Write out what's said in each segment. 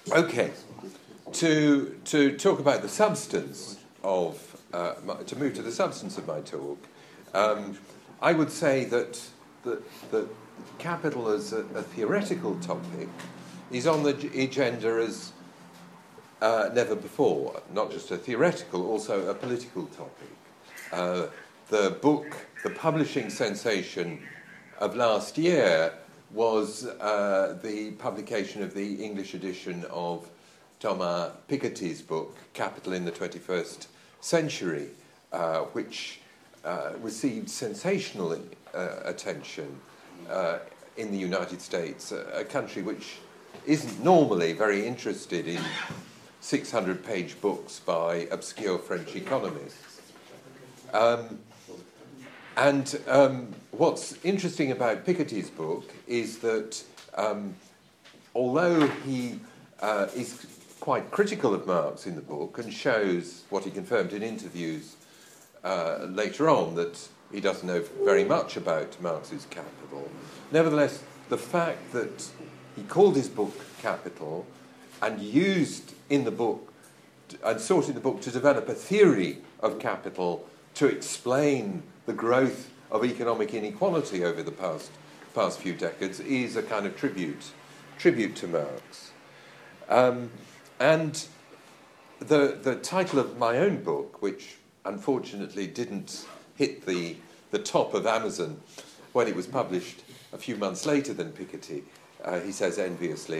Okay, to talk about the substance of, to move to the substance of my talk, I would say that capital as a theoretical topic is on the agenda as never before, not just a theoretical, also a political topic. The publishing sensation of last year was the publication of the English edition of Thomas Piketty's book, Capital in the 21st Century, which received sensational attention in the United States, a country which isn't normally very interested in 600-page books by obscure French economists. What's interesting about Piketty's book is that although he is quite critical of Marx in the book and shows what he confirmed in interviews later on, that he doesn't know very much about Marx's Capital, nevertheless, the fact that he called his book Capital and used in the book and sought in the book to develop a theory of capital to explain the growth of economic inequality over the past few decades is a kind of tribute to Marx. And the title of my own book, which unfortunately didn't hit the top of Amazon when it was published a few months later than Piketty, he says enviously,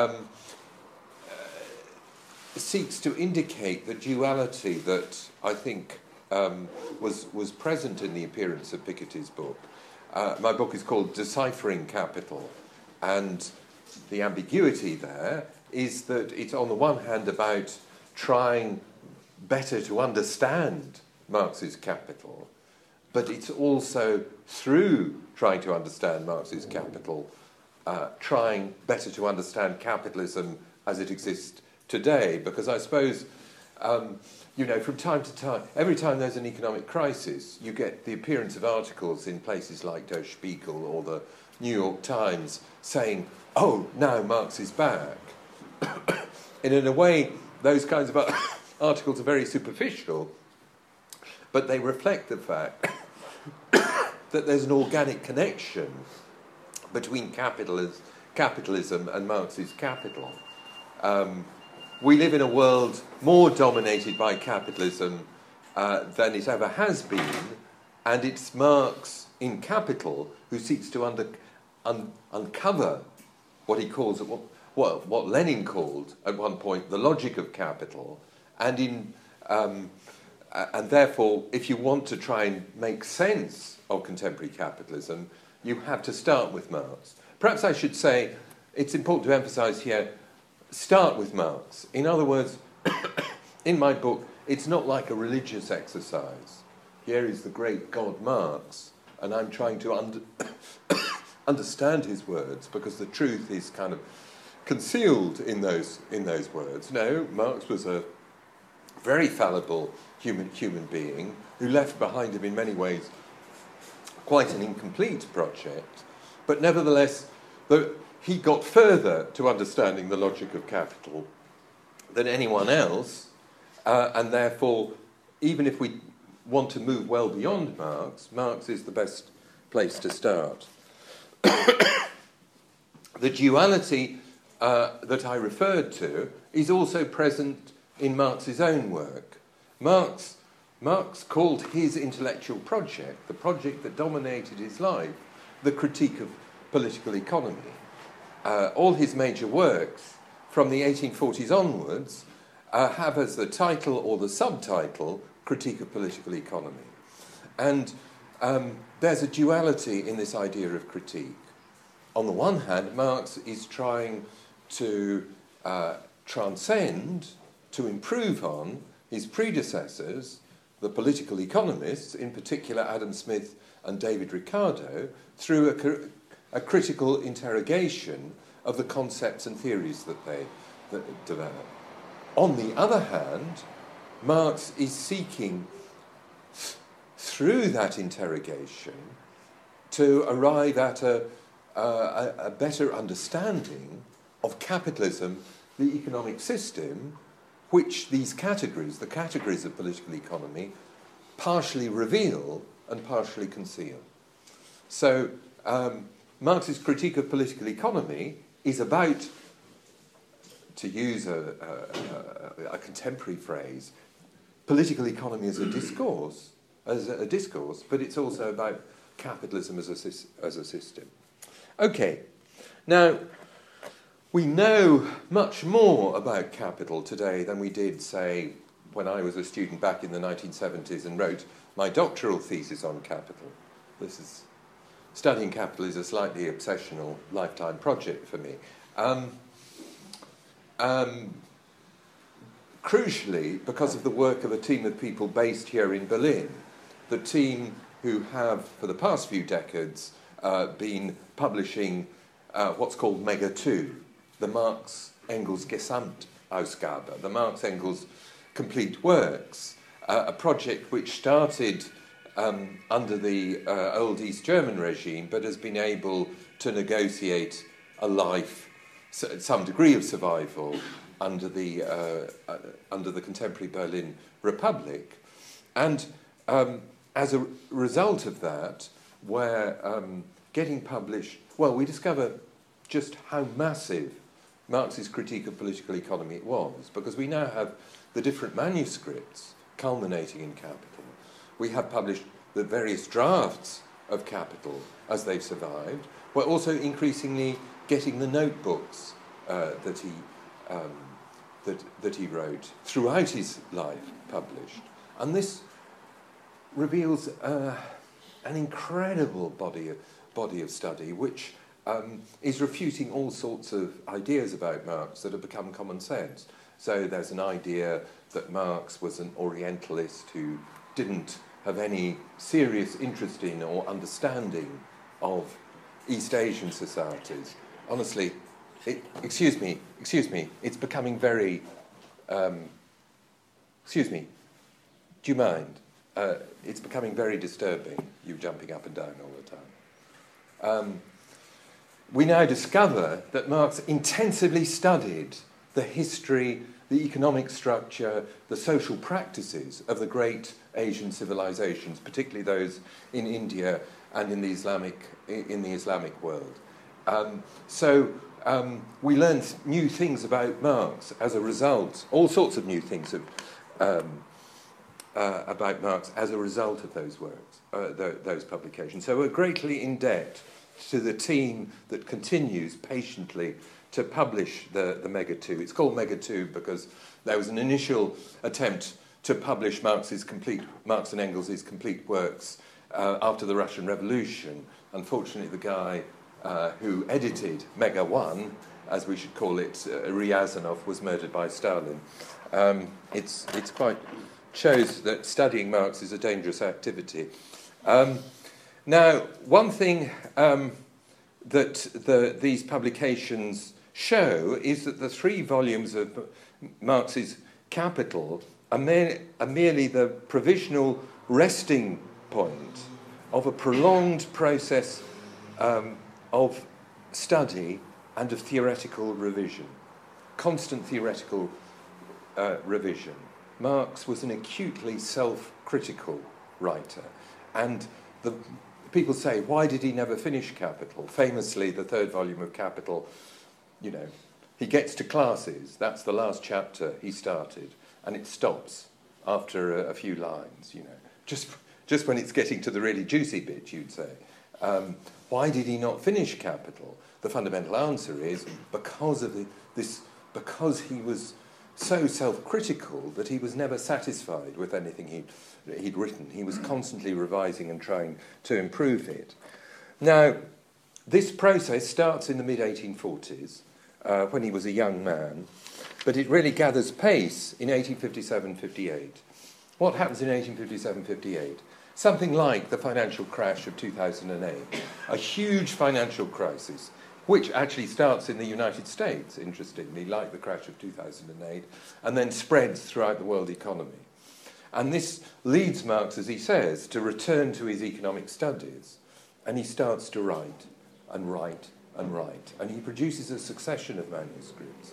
seeks to indicate the duality that I think was present in the appearance of Piketty's book. My book is called Deciphering Capital, and the ambiguity there is that it's on the one hand about trying better to understand Marx's Capital, but it's also through trying to understand Marx's Capital, trying better to understand capitalism as it exists today, because I suppose, from time to time, every time there's an economic crisis, you get the appearance of articles in places like Der Spiegel or the New York Times saying, oh, now Marx is back. And in a way, those kinds of articles are very superficial, but they reflect the fact that there's an organic connection between capitalism and Marx's Capital. We live in a world more dominated by capitalism than it ever has been, and it's Marx in Capital who seeks to uncover what he calls, what Lenin called at one point, the logic of capital, and therefore, if you want to try and make sense of contemporary capitalism, you have to start with Marx. Perhaps I should say, it's important to emphasise here, start with Marx. In other words, in my book, it's not like a religious exercise. Here is the great God Marx, and I'm trying to understand his words, because the truth is kind of concealed in those words. No, Marx was a very fallible human being who left behind him in many ways quite an incomplete project, but nevertheless, he got further to understanding the logic of capital than anyone else, and therefore, even if we want to move well beyond Marx, Marx is the best place to start. The duality that I referred to is also present in Marx's own work. Marx called his intellectual project, the project that dominated his life, the critique of political economy. All his major works, from the 1840s onwards, have as the title or the subtitle, Critique of Political Economy. And there's a duality in this idea of critique. On the one hand, Marx is trying to transcend, to improve on his predecessors, the political economists, in particular Adam Smith and David Ricardo, through a critical interrogation of the concepts and theories that they develop. On the other hand, Marx is seeking, through that interrogation, to arrive at a better understanding of capitalism the economic system which these categories, the categories of political economy, partially reveal and partially conceal. So Marx's critique of political economy is about, to use a contemporary phrase, political economy as a discourse, but it's also about capitalism as a system. Okay, now we know much more about capital today than we did, say, when I was a student back in the 1970s and wrote my doctoral thesis on capital. Studying capital is a slightly obsessional lifetime project for me. Crucially, because of the work of a team of people based here in Berlin, the team who have, for the past few decades, been publishing what's called Mega 2, the Marx-Engels Gesamtausgabe, the Marx-Engels Complete Works, a project which started under the old East German regime, but has been able to negotiate a life, some degree of survival, under the contemporary Berlin Republic. And as a result of that, we're getting published, well, we discover just how massive Marx's critique of political economy it was, because we now have the different manuscripts culminating in Capital. We have published the various drafts of Capital as they've survived. We're also increasingly getting the notebooks that he wrote throughout his life published. And this reveals an incredible body of study which is refuting all sorts of ideas about Marx that have become common sense. So there's an idea that Marx was an Orientalist who didn't have any serious interest in or understanding of East Asian societies. Honestly, excuse me, it's becoming very... excuse me, do you mind? It's becoming very disturbing, you jumping up and down all the time. We now discover that Marx intensively studied the history, the economic structure, the social practices of the great Asian civilizations, particularly those in India and in the Islamic world. We learn new things about Marx as a result, all sorts of new things about Marx as a result of those works, those publications. So we're greatly in debt to the team that continues patiently to publish the Mega 2. It's called Mega 2 because there was an initial attempt to publish Marx and Engels' complete works after the Russian Revolution. Unfortunately, the guy who edited Mega 1, as we should call it, Ryazanov, was murdered by Stalin. It's quite shows that studying Marx is a dangerous activity. Now, one thing that these publications show is that the 3 volumes of Marx's Capital are merely the provisional resting point of a prolonged process of study and of theoretical revision, constant theoretical revision. Marx was an acutely self-critical writer, and people say, why did he never finish Capital? Famously, the 3rd volume of Capital, he gets to classes, that's the last chapter he started, and it stops after a few lines, just when it's getting to the really juicy bit, you'd say. Why did he not finish Capital? The fundamental answer is because he was so self-critical that he was never satisfied with anything he'd written. He was constantly revising and trying to improve it. Now, this process starts in the mid-1840s, when he was a young man, but it really gathers pace in 1857-58. What happens in 1857-58? Something like the financial crash of 2008, a huge financial crisis, which actually starts in the United States, interestingly, like the crash of 2008, and then spreads throughout the world economy. And this leads Marx, as he says, to return to his economic studies, and he starts to write and write and write, and he produces a succession of manuscripts.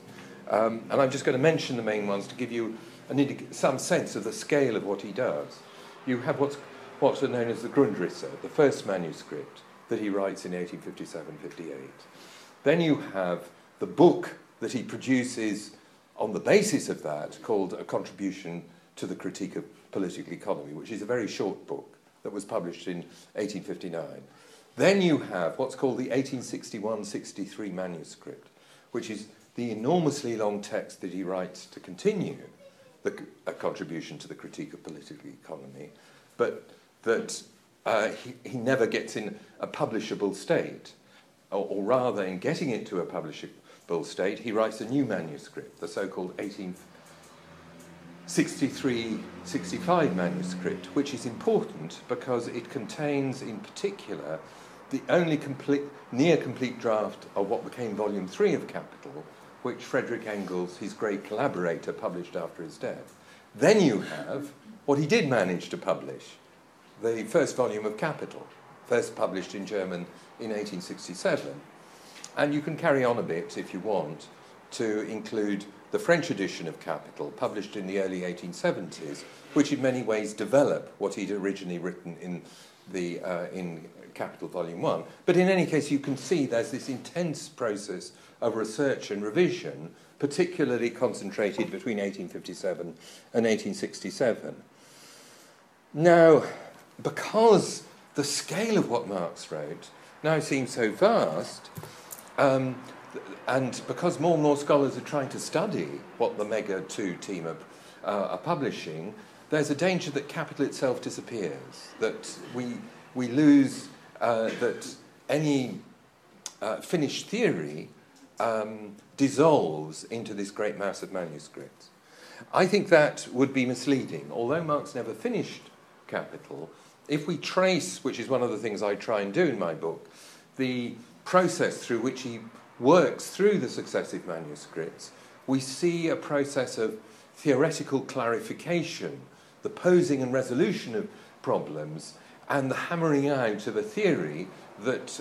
And I'm just going to mention the main ones to give you some sense of the scale of what he does. You have what's known as the Grundrisse, the first manuscript that he writes in 1857-58. Then you have the book that he produces on the basis of that, called A Contribution to the Critique of Political Economy, which is a very short book that was published in 1859. Then you have what's called the 1861-63 manuscript, which is the enormously long text that he writes to continue A Contribution to the Critique of Political Economy, but that he never gets in a publishable state, or rather, in getting it to a publishable state, he writes a new manuscript, the so-called 1863-65 manuscript, which is important because it contains, in particular, the only near-complete draft of what became Volume 3 of Capital, which Frederick Engels, his great collaborator, published after his death. Then you have what he did manage to publish, the first volume of Capital, first published in German in 1867. And you can carry on a bit, if you want, to include the French edition of Capital, published in the early 1870s, which in many ways develop what he'd originally written in Capital Volume 1. But in any case, you can see there's this intense process of research and revision, particularly concentrated between 1857 and 1867. Now, because the scale of what Marx wrote now seems so vast, and because more and more scholars are trying to study what the Mega 2 team are publishing, there's a danger that Capital itself disappears, that we lose, that any finished theory dissolves into this great mass of manuscripts. I think that would be misleading. Although Marx never finished Capital, if we trace, which is one of the things I try and do in my book, the process through which he works through the successive manuscripts, we see a process of theoretical clarification, the posing and resolution of problems, and the hammering out of a theory that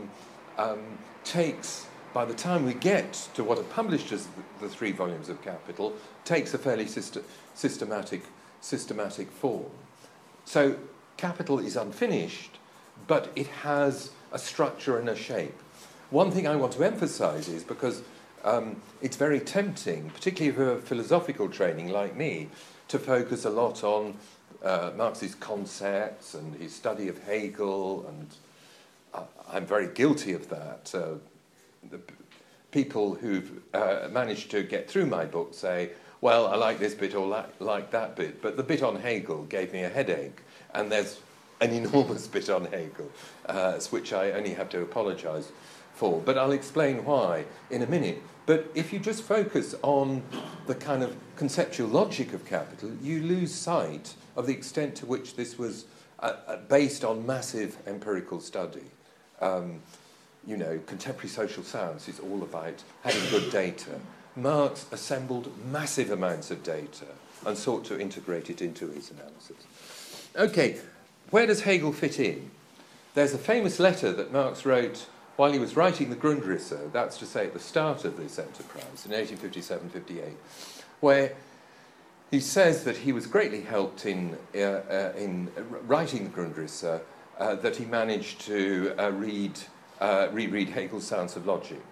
takes, by the time we get to what are published as the 3 volumes of Capital, takes a fairly systematic form. So Capital is unfinished, but it has a structure and a shape. One thing I want to emphasize is, because it's very tempting, particularly for a philosophical training like me, to focus a lot on Marx's concepts and his study of Hegel, and I'm very guilty of that. The people who've managed to get through my book say, well, I like this bit or like that bit, but the bit on Hegel gave me a headache, and there's an enormous bit on Hegel, which I only have to apologise for. But I'll explain why in a minute. But if you just focus on the kind of conceptual logic of Capital, you lose sight of the extent to which this was based on massive empirical study. Contemporary social science is all about having good data. Marx assembled massive amounts of data and sought to integrate it into his analysis. Okay, where does Hegel fit in? There's a famous letter that Marx wrote while he was writing the Grundrisse, that's to say at the start of this enterprise, in 1857-58, where he says that he was greatly helped in writing the Grundrisse, that he managed to reread Hegel's Science of Logic,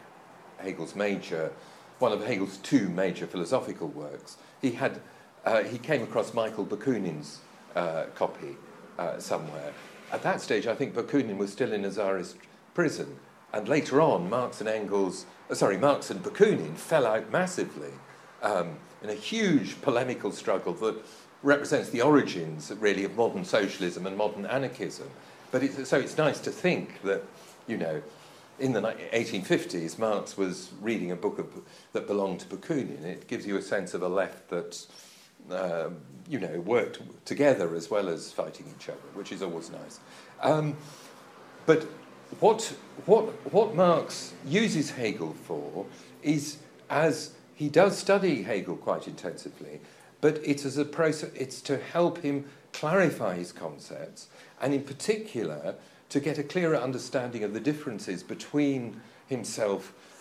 one of Hegel's 2 major philosophical works. He came across Michael Bakunin's copy somewhere. At that stage, I think Bakunin was still in a Tsarist prison, and later on, Marx and Bakunin fell out massively in a huge polemical struggle that represents the origins, really, of modern socialism and modern anarchism. But it's nice to think that, in the 1850s, Marx was reading a book that belonged to Bakunin. It gives you a sense of a left that, worked together as well as fighting each other, which is always nice. But what Marx uses Hegel for is, as he does study Hegel quite intensively, but it's as a process. It's to help him clarify his concepts, and in particular to get a clearer understanding of the differences between himself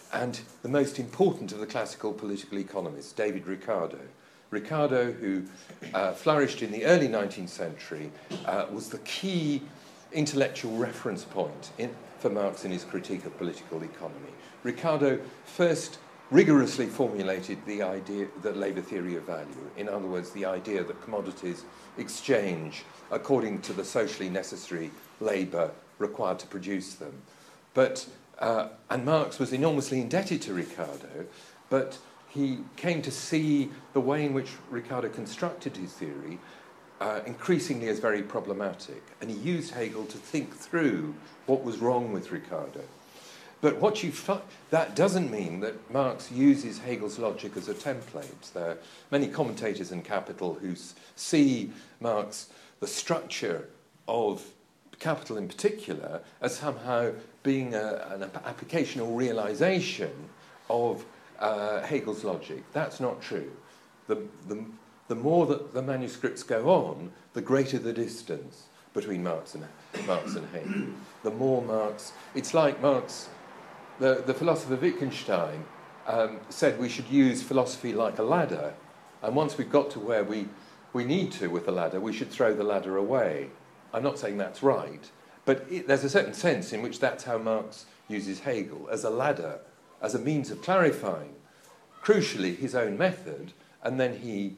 and the most important of the classical political economists, David Ricardo. Ricardo, who flourished in the early 19th century, was the key intellectual reference point for Marx in his critique of political economy. Ricardo first rigorously formulated the idea, the labour theory of value. In other words, the idea that commodities exchange according to the socially necessary labour required to produce them. And Marx was enormously indebted to Ricardo, but he came to see the way in which Ricardo constructed his theory increasingly as very problematic. And he used Hegel to think through what was wrong with Ricardo. But that doesn't mean that Marx uses Hegel's logic as a template. There are many commentators in Capital who see Marx, the structure of Capital in particular, as somehow being an application or realization of Hegel's logic. That's not true. The more that the manuscripts go on, the greater the distance between Marx and Hegel. The more Marx... It's like Marx... The philosopher Wittgenstein said we should use philosophy like a ladder, and once we've got to where we need to with the ladder, we should throw the ladder away. I'm not saying that's right, but there's a certain sense in which that's how Marx uses Hegel, as a ladder, as a means of clarifying, crucially, his own method, and then he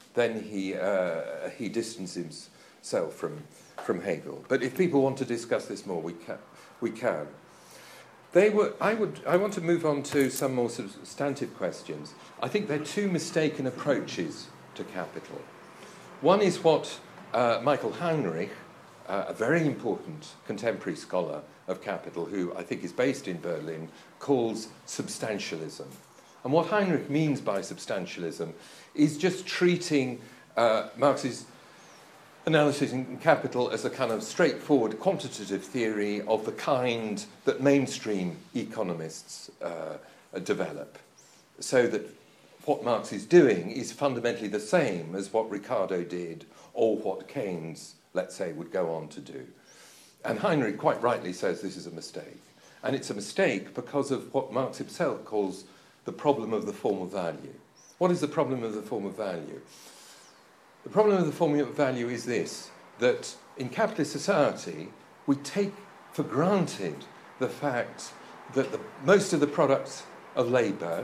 distances himself from Hegel. But if people want to discuss this more, we can. I want to move on to some more substantive questions. I think there are two mistaken approaches to Capital. One is what Michael Heinrich, a very important contemporary scholar of Capital, who I think is based in Berlin, calls substantialism. And what Heinrich means by substantialism is just treating Marx's analysis in Capital as a kind of straightforward quantitative theory of the kind that mainstream economists develop. So that what Marx is doing is fundamentally the same as what Ricardo did or what Keynes, let's say, would go on to do. And Heinrich quite rightly says this is a mistake. And it's a mistake because of what Marx himself calls the problem of the form of value. What is the problem of the form of value? The problem of the form of value is this, that in capitalist society, we take for granted the fact that most of the products of labour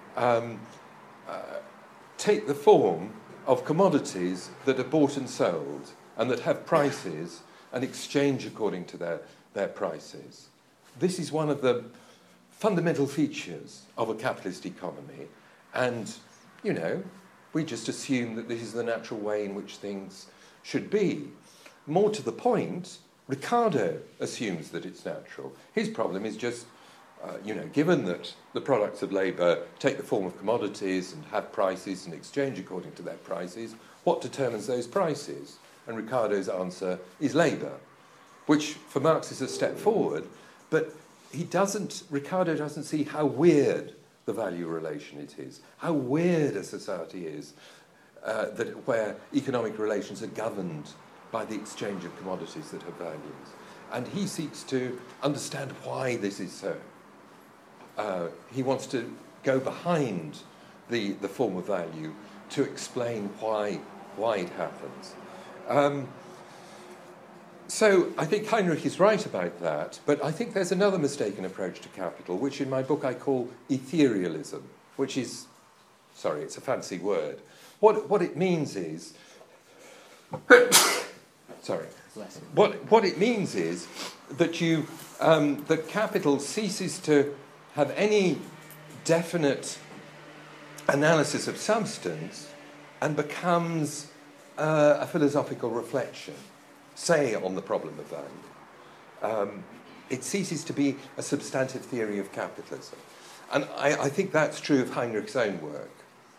take the form of commodities that are bought and sold and that have prices and exchange according to their prices. This is one of the fundamental features of a capitalist economy, and, you know, we just assume that this is the natural way in which things should be. More to the point, Ricardo assumes that it's natural. His problem is just, given that the products of labour take the form of commodities and have prices and exchange according to their prices, what determines those prices? And Ricardo's answer is labour, which for Marx is a step forward, but Ricardo doesn't see how weird the value relation it is, how weird a society is where economic relations are governed by the exchange of commodities that have values. And he seeks to understand why this is so. He wants to go behind the form of value to explain why it happens. So I think Heinrich is right about that, but I think there's another mistaken approach to capital, which in my book I call etherealism, which is, it's a fancy word. What it means is, what it means is that that capital ceases to have any definite analysis of substance and becomes a philosophical reflection, say, on the problem of value. It ceases to be a substantive theory of capitalism. And I think that's true of Heinrich's own work,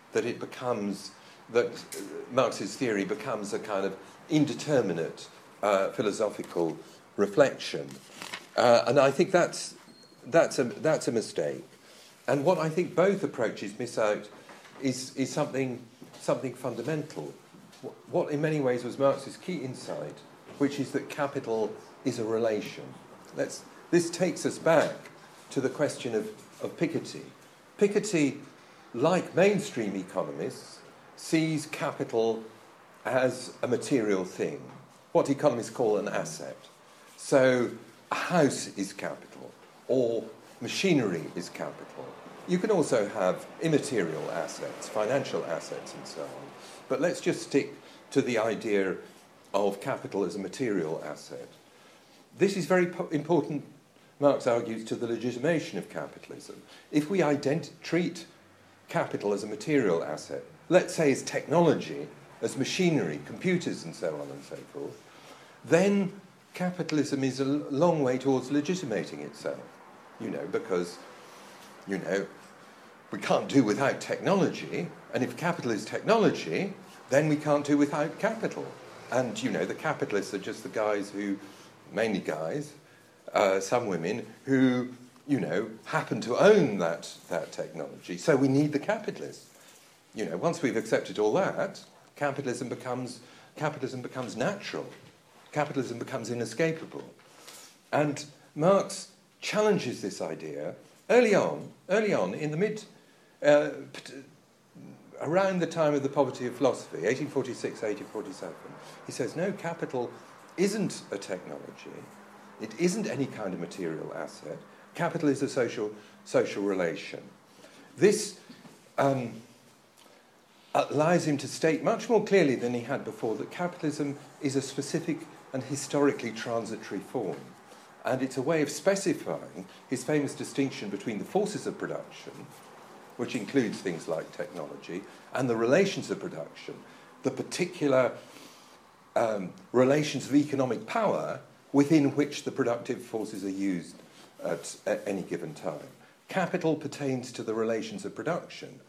that Marx's theory becomes a kind of indeterminate philosophical reflection. And I think that's a mistake. And what I think both approaches miss out is something fundamental. What in many ways was Marx's key insight, which is that capital is a relation. This takes us back to the question of of Piketty. Piketty, like mainstream economists, sees capital as a material thing, what economists call an asset. So a house is capital, or machinery is capital. You can also have immaterial assets, financial assets and so on. But let's just stick to the idea of capital as a material asset. This is very important, Marx argues, to the legitimation of capitalism. If we treat capital as a material asset, let's say as technology, as machinery, computers and so on and so forth, then capitalism is a long way towards legitimating itself, because, we can't do without technology, and if capital is technology, then we can't do without capital. And, the capitalists are just the guys who, mainly guys, some women, who, happen to own that technology. So we need the capitalists. Once we've accepted all that, capitalism becomes natural. Capitalism becomes inescapable. And Marx challenges this idea early on in the around the time of the Poverty of Philosophy, 1846, 1847. He says, no, capital isn't a technology. It isn't any kind of material asset. Capital is a social relation. This allows him to state much more clearly than he had before that capitalism is a specific and historically transitory form. And it's a way of specifying his famous distinction between the forces of production, which includes things like technology, and the relations of production, the particular relations of economic power within which the productive forces are used at any given time. Capital pertains to the relations of production.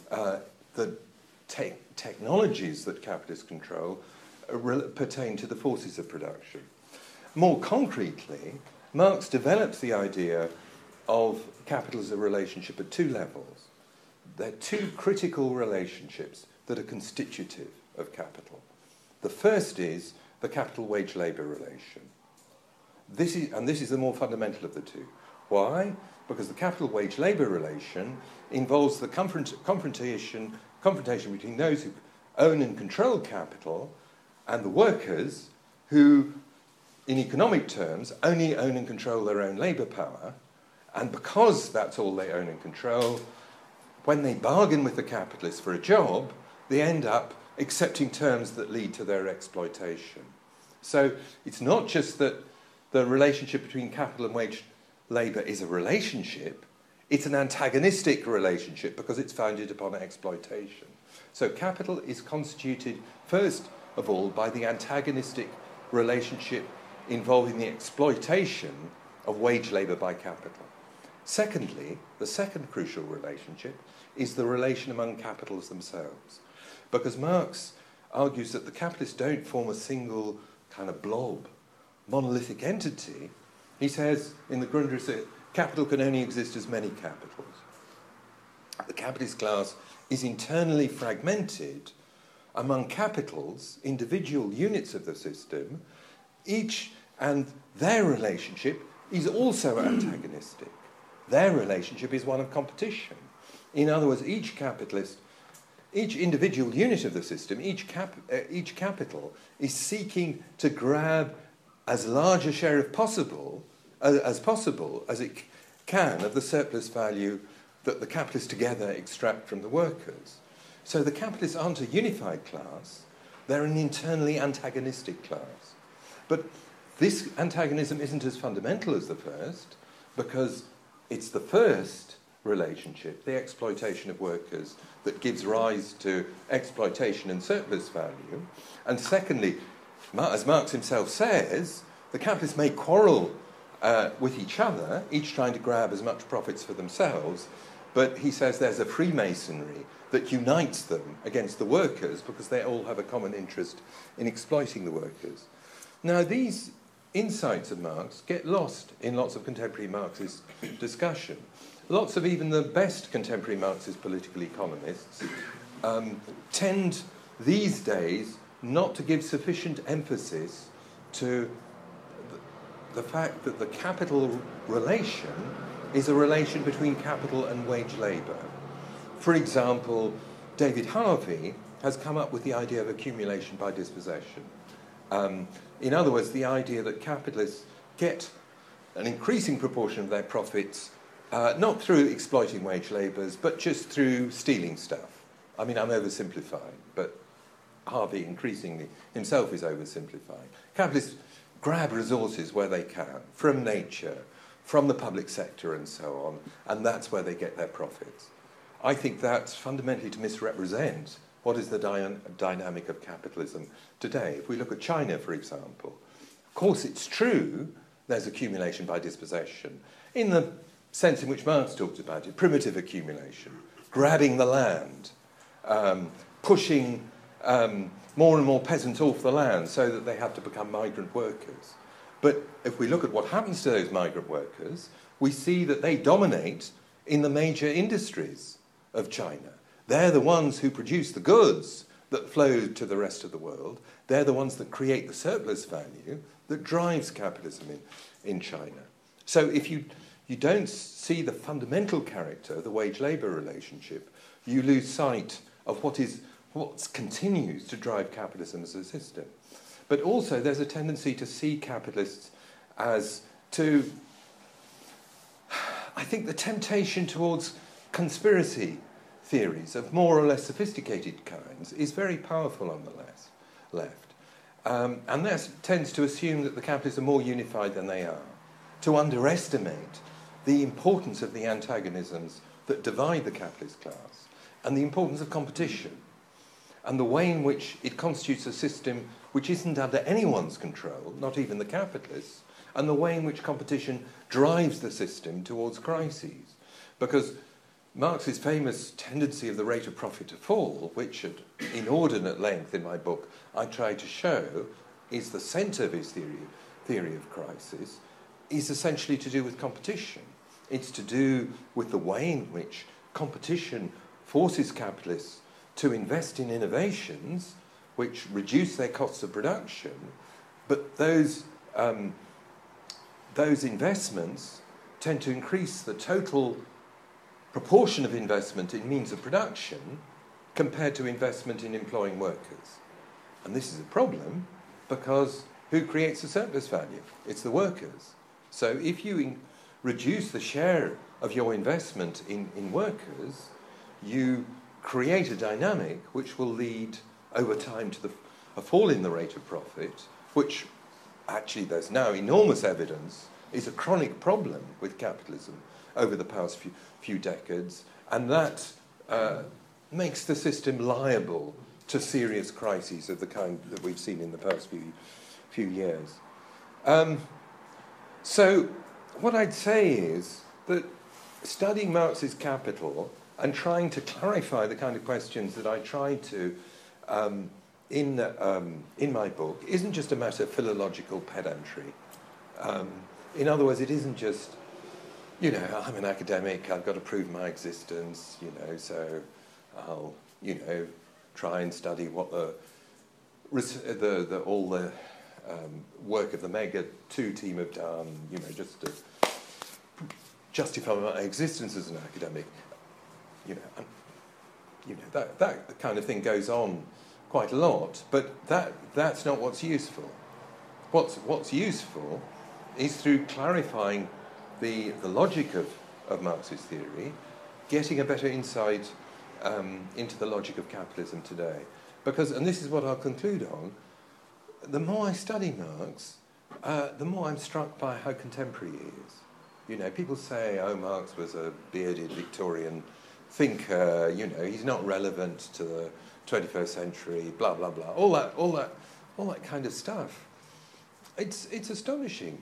The technologies that capitalists control pertain to the forces of production. More concretely, Marx develops the idea of capital as a relationship at two levels. There are two critical relationships that are constitutive of capital. The first is the capital-wage-labour relation. This is the more fundamental of the two. Why? Because the capital-wage-labour relation involves the confrontation between those who own and control capital and the workers who, in economic terms, only own and control their own labour power. And because that's all they own and control, when they bargain with the capitalists for a job, they end up accepting terms that lead to their exploitation. So it's not just that the relationship between capital and wage labour is a relationship, it's an antagonistic relationship because it's founded upon exploitation. So capital is constituted, first of all, by the antagonistic relationship involving the exploitation of wage labour by capital. Secondly, the second crucial relationship is the relation among capitals themselves. Because Marx argues that the capitalists don't form a single kind of blob, monolithic entity. He says in the Grundrisse, capital can only exist as many capitals. The capitalist class is internally fragmented among capitals, individual units of the system, each and their relationship is also antagonistic. Their relationship is one of competition. In other words, each individual unit of the system, each capital is seeking to grab as large a share of possible as it can of the surplus value that the capitalists together extract from the workers. So the capitalists aren't a unified class, they're an internally antagonistic class. But this antagonism isn't as fundamental as the first, because it's the first relationship, the exploitation of workers, that gives rise to exploitation and surplus value. And secondly, as Marx himself says, the capitalists may quarrel with each other, each trying to grab as much profits for themselves, but he says there's a freemasonry that unites them against the workers because they all have a common interest in exploiting the workers. Now, these insights of Marx get lost in lots of contemporary Marxist discussion. Lots of even the best contemporary Marxist political economists tend these days not to give sufficient emphasis to the fact that the capital relation is a relation between capital and wage labour. For example, David Harvey has come up with the idea of accumulation by dispossession. In other words, the idea that capitalists get an increasing proportion of their profits not through exploiting wage labourers, but just through stealing stuff. I mean, I'm oversimplifying, but Harvey increasingly himself is oversimplifying. Capitalists grab resources where they can, from nature, from the public sector and so on, and that's where they get their profits. I think that's fundamentally to misrepresent what is the dynamic of capitalism today. If we look at China, for example, of course it's true there's accumulation by dispossession, in the sense in which Marx talked about it, primitive accumulation, grabbing the land, pushing more and more peasants off the land so that they have to become migrant workers. But if we look at what happens to those migrant workers, we see that they dominate in the major industries of China. They're the ones who produce the goods that flow to the rest of the world. They're the ones that create the surplus value that drives capitalism in China. So if you don't see the fundamental character of the wage-labour relationship, you lose sight of what continues to drive capitalism as a system. But also there's a tendency to see capitalists as to, I think the temptation towards conspiracy theories of more or less sophisticated kinds is very powerful on the left. And that tends to assume that the capitalists are more unified than they are, to underestimate the importance of the antagonisms that divide the capitalist class, and the importance of competition, and the way in which it constitutes a system which isn't under anyone's control, not even the capitalists, and the way in which competition drives the system towards crises. Because Marx's famous tendency of the rate of profit to fall, which at inordinate length in my book I try to show is the centre of his theory of crisis, is essentially to do with competition. It's to do with the way in which competition forces capitalists to invest in innovations which reduce their costs of production, but those investments tend to increase the total proportion of investment in means of production compared to investment in employing workers. And this is a problem because who creates the surplus value? It's the workers. So if you reduce the share of your investment in workers, you create a dynamic which will lead over time to a fall in the rate of profit, which actually there's now enormous evidence is a chronic problem with capitalism over the past few decades, and that makes the system liable to serious crises of the kind that we've seen in the past few years. So what I'd say is that studying Marx's Capital and trying to clarify the kind of questions that I tried to in my book isn't just a matter of philological pedantry. In other words, it isn't just, I'm an academic, I've got to prove my existence, so I'll, try and study what all the work of the Mega 2 team have done, just to justify my existence as an academic. That kind of thing goes on quite a lot, but that's not what's useful. What's useful is through clarifying the logic of Marx's theory, getting a better insight into the logic of capitalism today. Because, and this is what I'll conclude on, the more I study Marx, the more I'm struck by how contemporary he is. People say, Marx was a bearded Victorian thinker, he's not relevant to the 21st century, blah, blah, blah, all that kind of stuff. It's astonishing.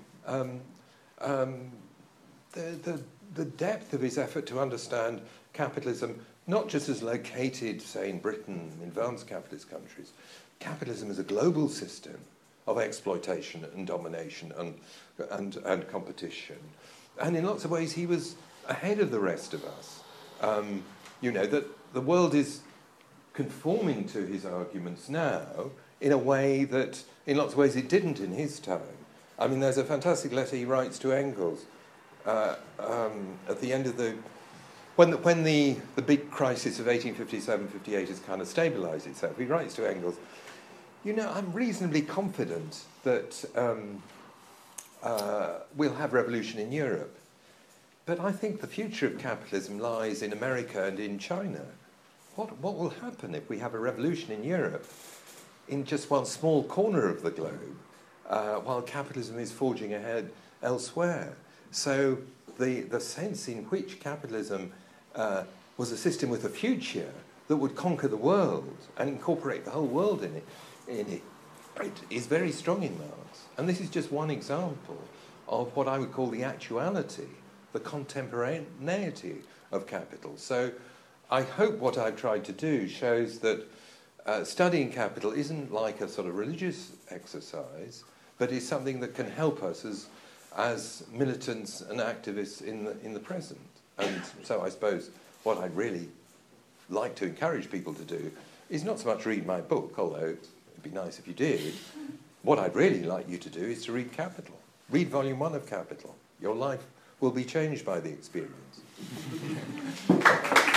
The depth of his effort to understand capitalism, not just as located, say, in Britain, in advanced capitalist countries. Capitalism is a global system of exploitation and domination and competition. And in lots of ways, he was ahead of the rest of us. That the world is conforming to his arguments now in a way that, in lots of ways, it didn't in his time. I mean, there's a fantastic letter he writes to Engels at the end of the... When the big crisis of 1857-58 has kind of stabilised itself, he writes to Engels, you know, I'm reasonably confident that we'll have revolution in Europe. But I think the future of capitalism lies in America and in China. What will happen if we have a revolution in Europe in just one small corner of the globe while capitalism is forging ahead elsewhere? So the sense in which capitalism was a system with a future that would conquer the world and incorporate the whole world in it is very strong in Marx. And this is just one example of what I would call the actuality, the contemporaneity of capital. So I hope what I've tried to do shows that studying capital isn't like a sort of religious exercise, but is something that can help us as militants and activists in the present. And so I suppose what I'd really like to encourage people to do is not so much read my book, although it'd be nice if you did. What I'd really like you to do is to read Capital. Read Volume 1 of Capital. Your life will be changed by the experience.